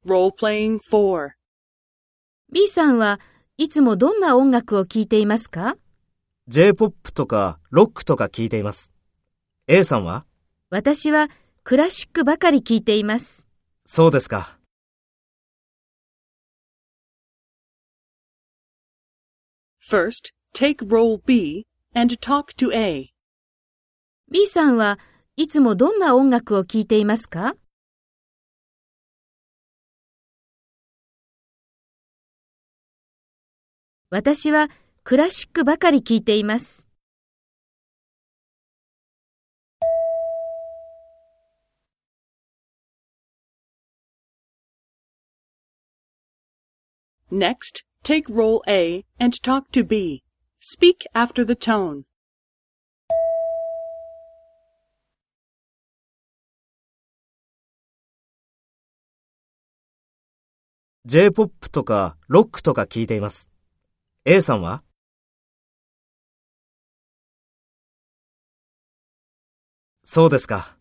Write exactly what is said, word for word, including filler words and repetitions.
Role-playing four. B さんはいつもどんな音楽を聴いていますか？ ジェイポップ とかロックとか聞いています。A さんは？ 私はクラシックばかり聴いています。 そうですか。 First, take role B and talk to A. B さんはいつもどんな音楽を聴いていますか？私はクラシックばかり聴いています。 Next, take role A and talk to B. Speak after the tone. ジェイポップ とかロックとか聞いています。A さんは？そうですか。